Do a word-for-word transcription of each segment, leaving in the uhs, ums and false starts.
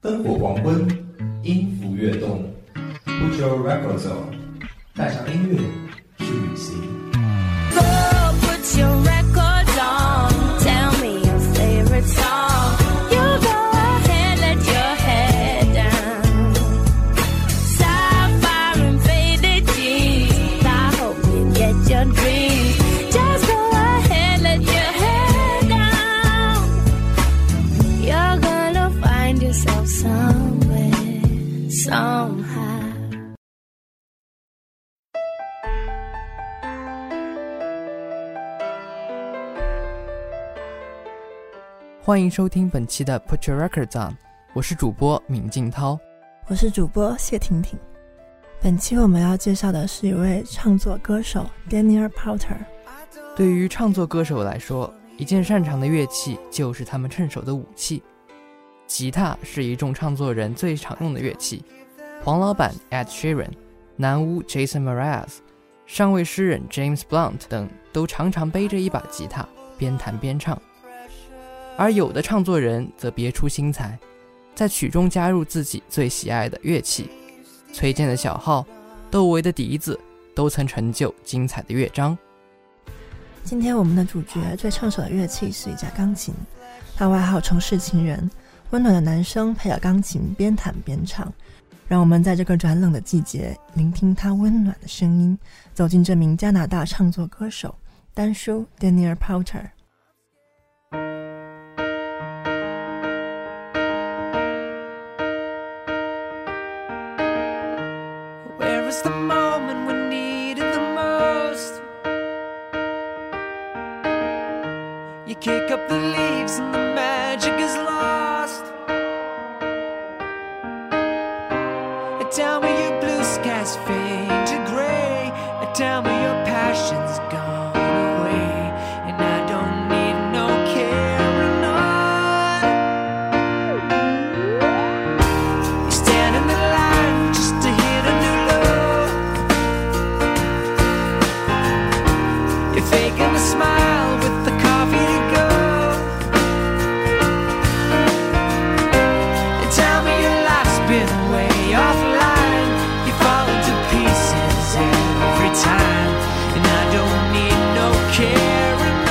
灯火黄昏，音符跃动 Put your records on， 带上音乐去旅行。 Oh, put your records on, tell me your favorite song. You go ahead, let your head down. Sapphire and faded jeans, I hope you get your dreams. Just go ahead, let your head down. You're gonna find yourself somewhere, somehow. 欢迎收听本期的 Put Your Records On， 我是主播闵静涛， 我是主播谢婷婷。本期我们要介绍的是一位唱作歌手 Daniel Powter。 对于唱作歌手来说，一件擅长的乐器就是他们趁手的武器。吉他是一众唱作人最常用的乐器，黄老板 Ed Sheeran、 男巫 Jason Mraz、 上位诗人 James Blunt 等都常常背着一把吉他边弹边唱。而有的唱作人则别出心裁，在曲中加入自己最喜爱的乐器，崔健的小号，窦唯的笛子都曾成就精彩的乐章。 今天我们的主角最唱手的乐器是一架钢琴，他外号城市情人，温暖的男声配着钢琴边弹边唱，让我们在这个转冷的季节聆听他温暖的声音，走进这名加拿大唱作歌手丹叔 Daniel Powter。Where is the moment we need it the most? You kick up the leaves and the magic is lost. Tell me your blue skies fade to gray. Tell me your passion's gone away. And I don't need no carrying on. You stand in the line just to hit a new low. You're faking a smile with the coffee to go. And tell me your life's been way offline. You fall into pieces every time. And I don't need no carrying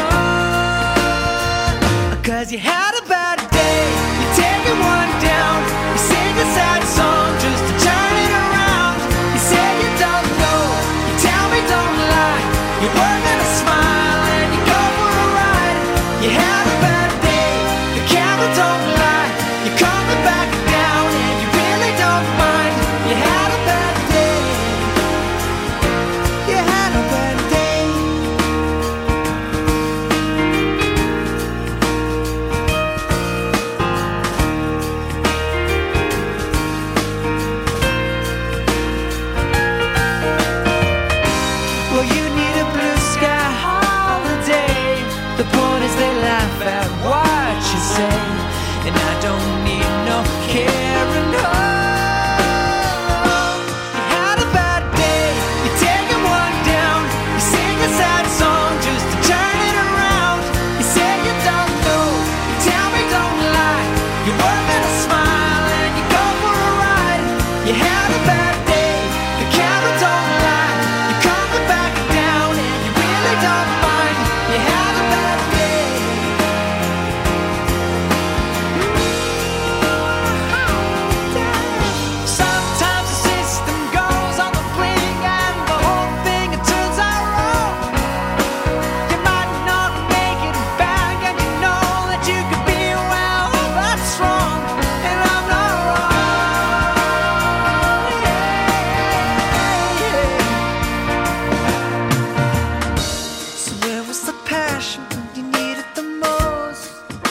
on. Cause you had a bad day, you're taking one down. You sing a sad song just to turn it around. You say you don't know, you tell me don't lie. You're working a smile and you go for a ride. You had a bad day, the camera don't lie. You're coming back down and you really don't mind. You had a bad day, you had a bad day. Well, you need a blue sky holiday. The point is they laugh at what you say. And I don't need no carrying on. You had a bad day, you're taking one down. You sing a sad song just to turn it around. You say you don't know, you tell me don't lie. You're working a smile and you go for a ride. You had a bad day, the camera don't lie. You're coming back down and you really don't mind. You had a bad day. Sometimes the system goes on the blink and the whole thing it turns out wrong. You might not make it back and you know that you could be well, that's wrong. And I'm not wrong. Yeah, yeah. So where was the passion when you needed the most?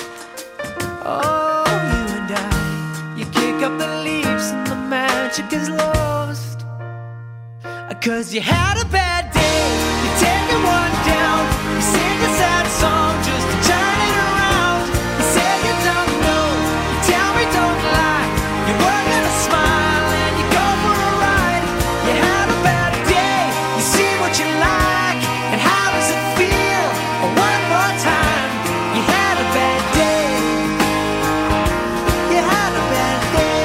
Oh, you and I, you kick up the leaves and the magic is lost. Cause you had a bad day, you're taking one down. You sing a sad song just to turn it around. You say you don't know, you tell me don't lie. You're working a smile and you go for a ride. You had a bad day, you see what you like. And how does it feel? One more time. You had a bad day, you had a bad day.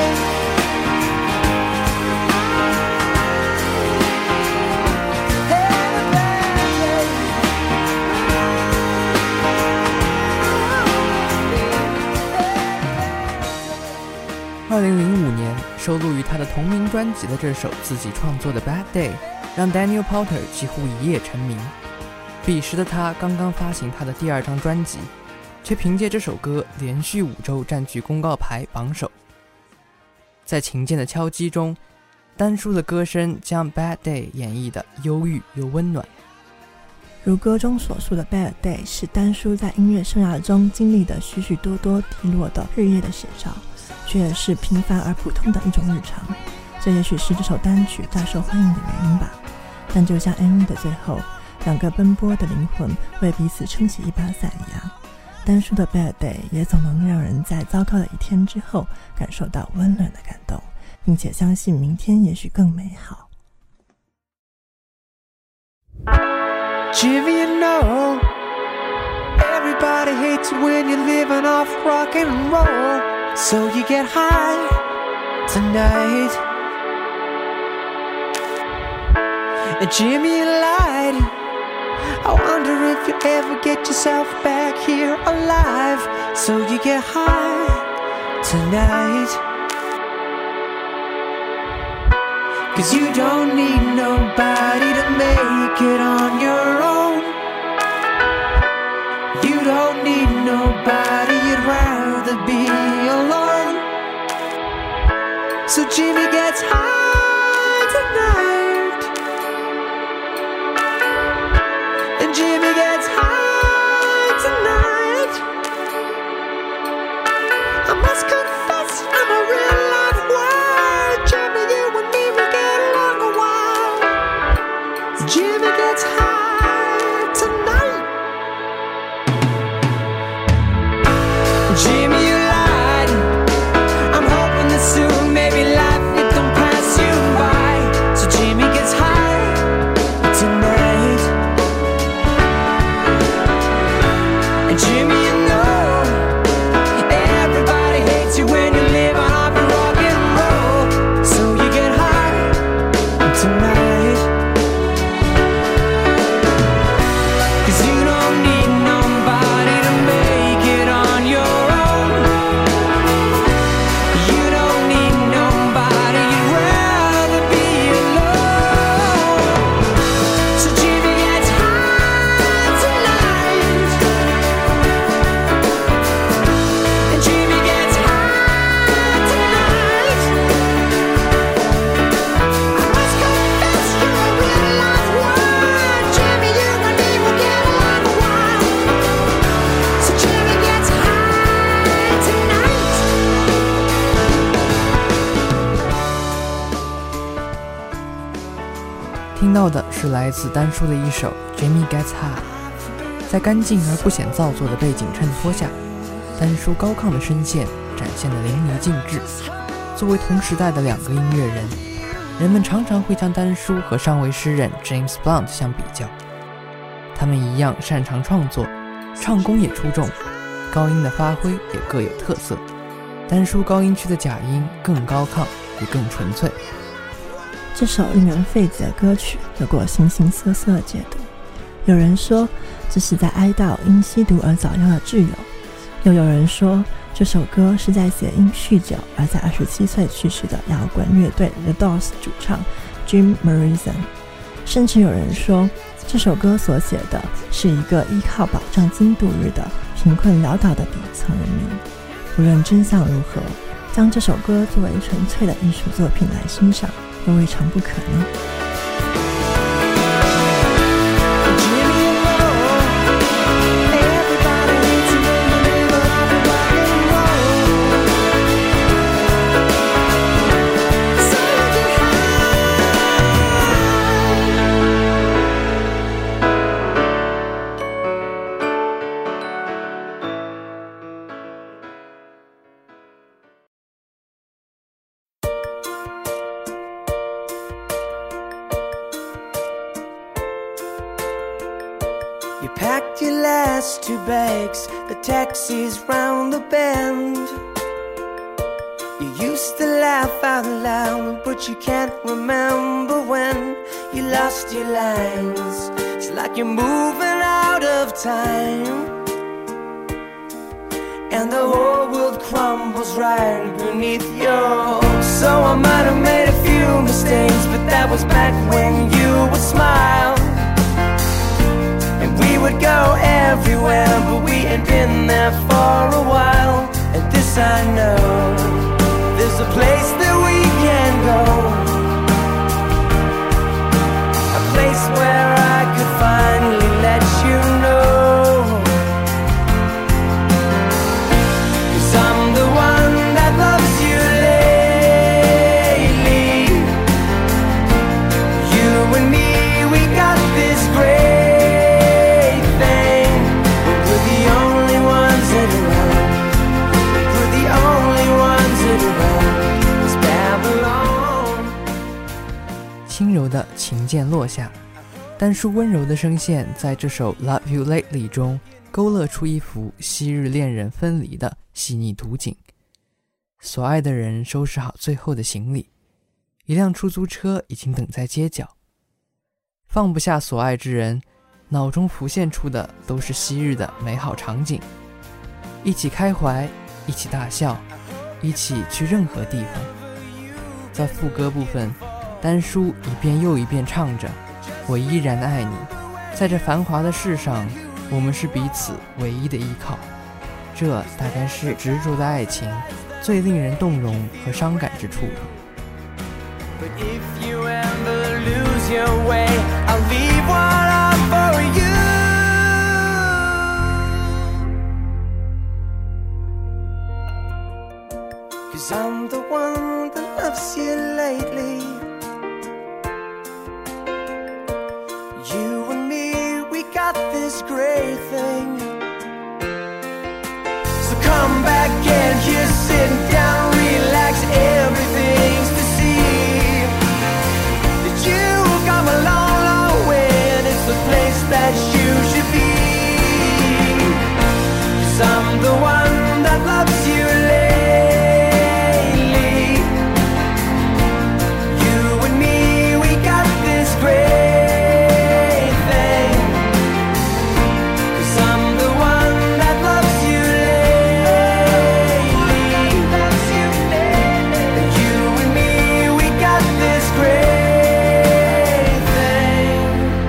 二零零五年收录于他的同名专辑的这首自己创作的 Bad Day 让 Daniel Powter 几乎一夜成名。彼时的他刚刚发行他的第二张专辑，却凭借这首歌连续五周占据公告牌榜首。在琴键的敲击中，丹叔的歌声将 Bad Day 演绎的忧郁又温暖。 如歌中所述的 Bad Day 是丹叔在音乐生涯中经历的许许多多低落的日夜的写照，却也是平凡而普通的一种日常。这也许是这首单曲大受欢迎的原因吧。但就像 M V 的最后，两个奔波的灵魂为彼此撑起一把伞一样，丹叔的 Bad Day 也总能让人在糟糕的一天之后感受到温暖的感动，并且相信明天也许更美好。 Jimmy, you know, everybody hates you when you're living off rock and roll. So you get high tonight. And Jimmy, you lied. I wonder if you ever get yourself back here alive. So you get high tonight. 'Cause you don't need nobody to make it on your own. You don't need nobody, you'd rather be alone. So Jimmy gets high tonight. And Jimmy gets high tonight. I must confess I'm a real life wild. Jimmy, you and me will get along a while. Jimmy gets high tonight. Jimmy, you lied. I'm hoping that soon maybe life it don't pass you by. So Jimmy gets high tonight. And Jimmy, you know, everybody hates you when you're living off of rock and roll. So you get high tonight. 'Cause you don't need nobody to make it on your own. You don't need nobody, you'd rather be alone. So Jimmy gets high tonight. And Jimmy gets high tonight. I must confess you're a real life wild. Jimmy, you and me will get along a while. So Jimmy gets high tonight. 听到的是来自丹叔的一首 Jimmy Gets High。 在干净而不显造作的背景衬托下，丹叔高亢的声线展现得淋漓尽致。作为同时代的两个音乐人，人们常常会将丹叔和上位诗人 James Blunt 相比较。他们一样擅长创作，唱功也出众，高音的发挥也各有特色。丹叔高音区的假音更高亢也更纯粹。 这首令人费解的歌曲有过形形色色的解读，有人说这是在哀悼因吸毒而早夭的挚友，又有人说这首歌是在写因酗酒而在二十七岁去世的摇滚乐队 The Doors 主唱 Jim Morrison， 甚至有人说这首歌所写的是一个依靠保障金度日的贫困潦倒的底层人民。无论真相如何，将这首歌作为纯粹的艺术作品来欣赏又未尝不可能。 You packed your last two bags, the taxi's round the bend. You used to laugh out loud, but you can't remember when you lost your lines. It's like you're moving out of time. and the whole world crumbles right beneath you. So I might have made a few mistakes, but that was back when you would smile. And we would go everywhere, but we ain't been there for a while. And this I know, there's a place that we can go, a place where I could finally let you know. 'Cause I'm the one that loves you lately. You and me, we got this great thing, but we're the only ones that are around. We're the only ones that are around. It's Babylon. 轻柔的琴键落下，丹叔温柔的声线在这首 Love You Lately 中勾勒出一幅昔日恋人分离的细腻图景。所爱的人收拾好最后的行李，一辆出租车已经等在街角。放不下所爱之人，脑中浮现出的都是昔日的美好场景，一起开怀，一起大笑，一起去任何地方。在副歌部分，丹叔一遍又一遍唱着我依然爱你，在这繁华的世上，我们是彼此唯一的依靠。这大概是执着的爱情最令人动容和伤感之处了。 But if you ever lose your way, I'll leave one up for you. Cause I'm the one that loves you lately. You and me, we got this great thing. So come back and just sit down, relax, everything's to see. That you've come a long, long way, and it's the place that you should be. Cause I'm the one that loves you lately. You and me, we got this great thing. Cause I'm the one that loves you lately. Loves you lately. And you and me, we got this great thing.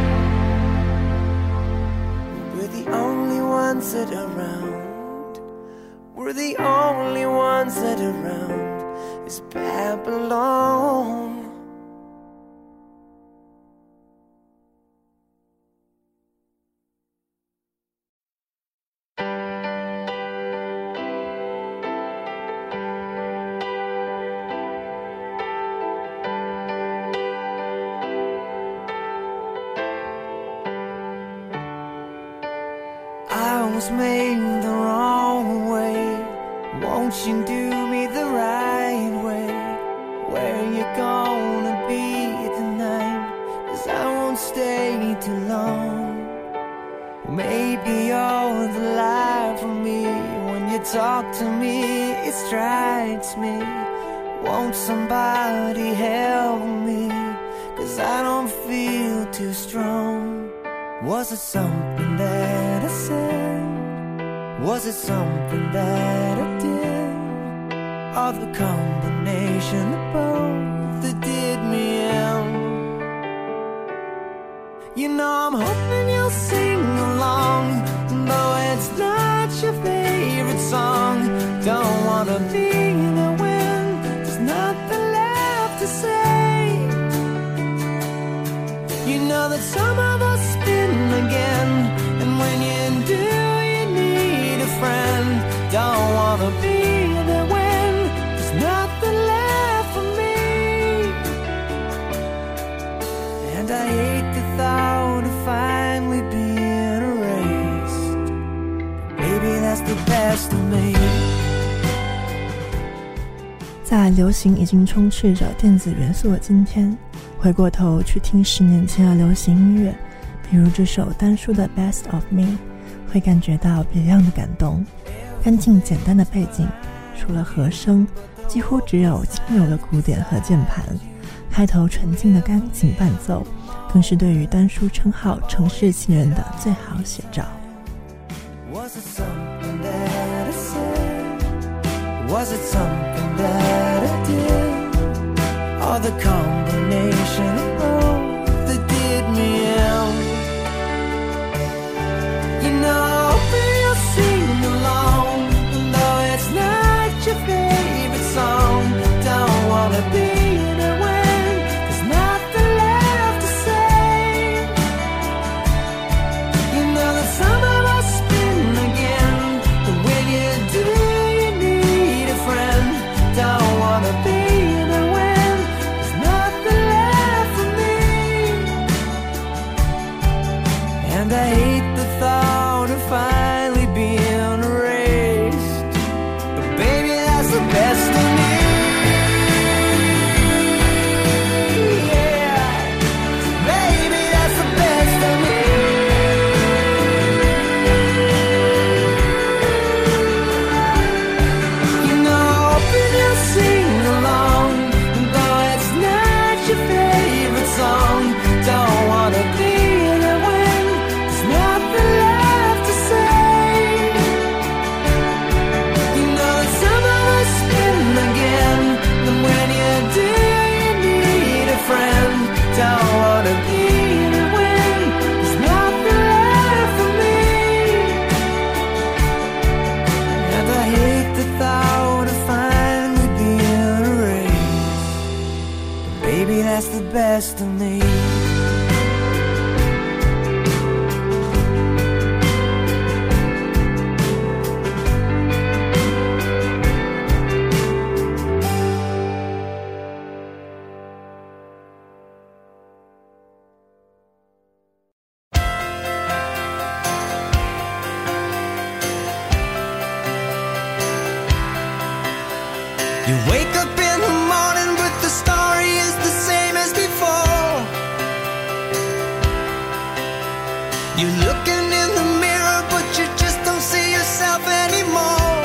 We're the only ones that are around. We're the only ones that are around. It's Babylon. I was made the wrong way. Won't you do me the right way? Where you gonna be tonight? Cause I won't stay too long. Maybe you're the light for me. When you talk to me, it strikes me. Won't somebody help me? Cause I don't feel too strong. Was it something that I said? Was it something that I did? Or the combination of both that did me in? You know I'm hoping you'll sing along, though it's not your favorite song. Don't wanna be there when there's nothing left to say. You know that some of us spin again, and when you do, you need a friend. Don't wanna be there when there's nothing left for me. And I hate the thought of finally being erased. Maybe that's the best of me. 在流行已经充斥着电子元素的今天，回过头去听十年前的流行音乐，比如这首丹叔的 Best of Me， 会感觉到别样的感动。干净简单的背景，除了和声，几乎只有轻柔的鼓点和键盘，开头纯净的钢琴伴奏，更是对于丹叔称号城市情人的最好写照。 Was it something that I said? Was it something that I did, or the combination of both that did me in? You know, you'll sing along, though it's not your favorite song. Don't wanna be there when there's nothing left to say. You know that summer will spin again, but when you do, you need a friend. Don't wanna be there when there's nothing left for me. And I hate the thought of finally being erased, but baby, that's the best of me. Yeah, baby, that's the best of me. You know, open and sing along, though it's not your favorite song. Don't wanna be there when there's nothing left to say. You know that summer will spin again, and when you do, you need a friend. Don't wanna be there when there's nothing left for me. And I hate the thought of finally being erased, but baby, that's the best of me. You wake up in the morning, but the story is the same as before. You're looking in the mirror, but you just don't see yourself anymore.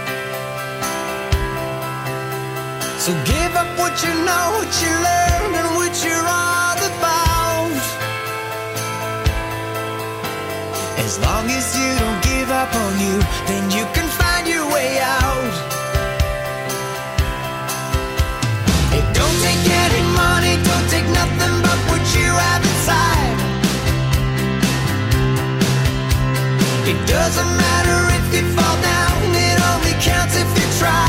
So give up what you know, what you learn, and what you're all about. As long as you don't give up on you, then you can find your way out. It don't take any money, don't take nothing but what you have inside. It doesn't matter if you fall down, it only counts if you try.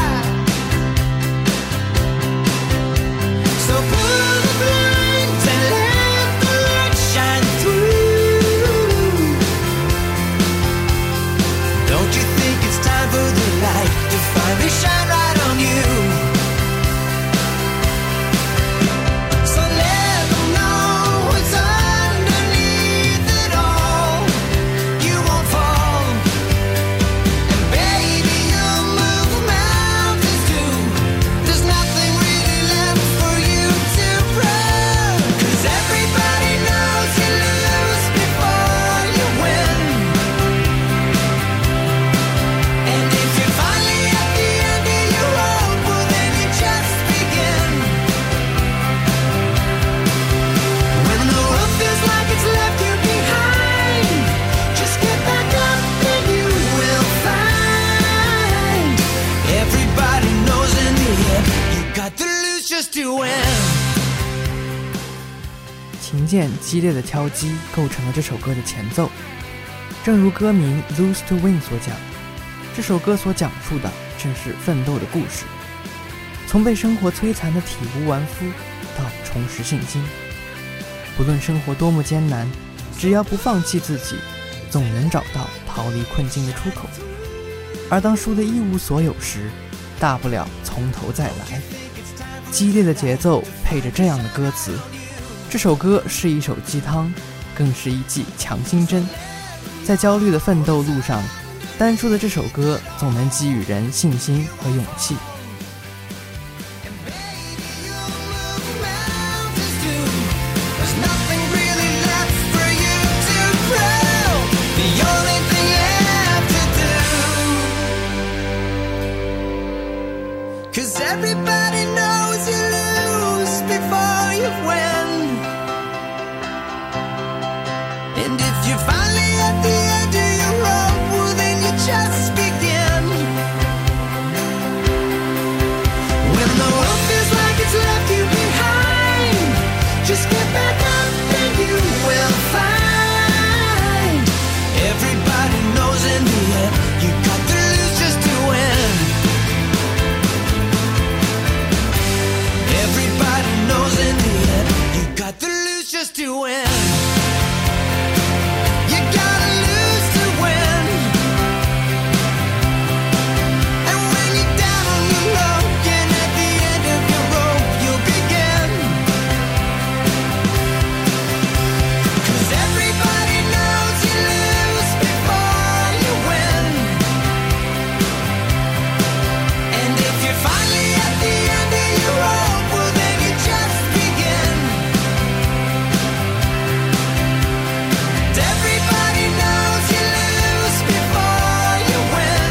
So pull the blinds and let the light shine through. Don't you think it's time for the light to finally shine right on you? So let them know what's underneath it all. You won't fall, and baby, you'll move mountains too. There's nothing really left for you to prove, 'cause everybody knows you lose before you win. And if you're finally at the end of your rope, well then you just begin. When the world feels like it's left you behind, just get back up and you will find. Everybody knows in the end, you got to lose just to win. 琴键激烈的敲击构成了这首歌的前奏。正如歌名 Lose to Win 所讲，这首歌所讲述的正是奋斗的故事，从被生活摧残的体无完肤到重拾信心。不论生活多么艰难，只要不放弃自己，总能找到逃离困境的出口。而当输得一无所有时，大不了从头再来。激烈的节奏配着这样的歌词，这首歌是一首鸡汤，更是一剂强心针。在焦虑的奋斗路上，单说的这首歌总能给予人信心和勇气。 Cause everybody knows you lose before you win. And if you're finally at the end of your rope, well then you just begin. to win. You gotta lose to win. And when you're down on the low and at the end of your rope, you'll begin. 'Cause everybody knows you lose before you win. And if you're finally at the end of your rope, well then you just begin. Everybody knows you lose before you win.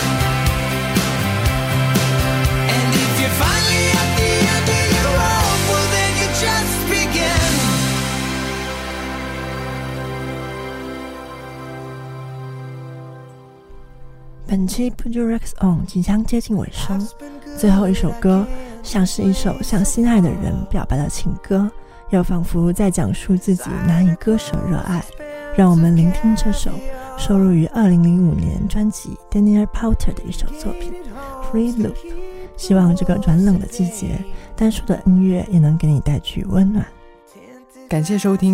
And if you're finally at the end of your rope, well then you just begin. 本期 Put Your Records On 即将接近尾声，最后一首歌像是一首向心爱的人表白的情歌，又仿佛在讲述自己难以割舍热爱。让我们聆听这首收录于二零零五年专辑 Daniel Powter 的一首作品 Free Loop。 希望这个转冷的季节，单数的音乐也能给你带去温暖。 感谢收听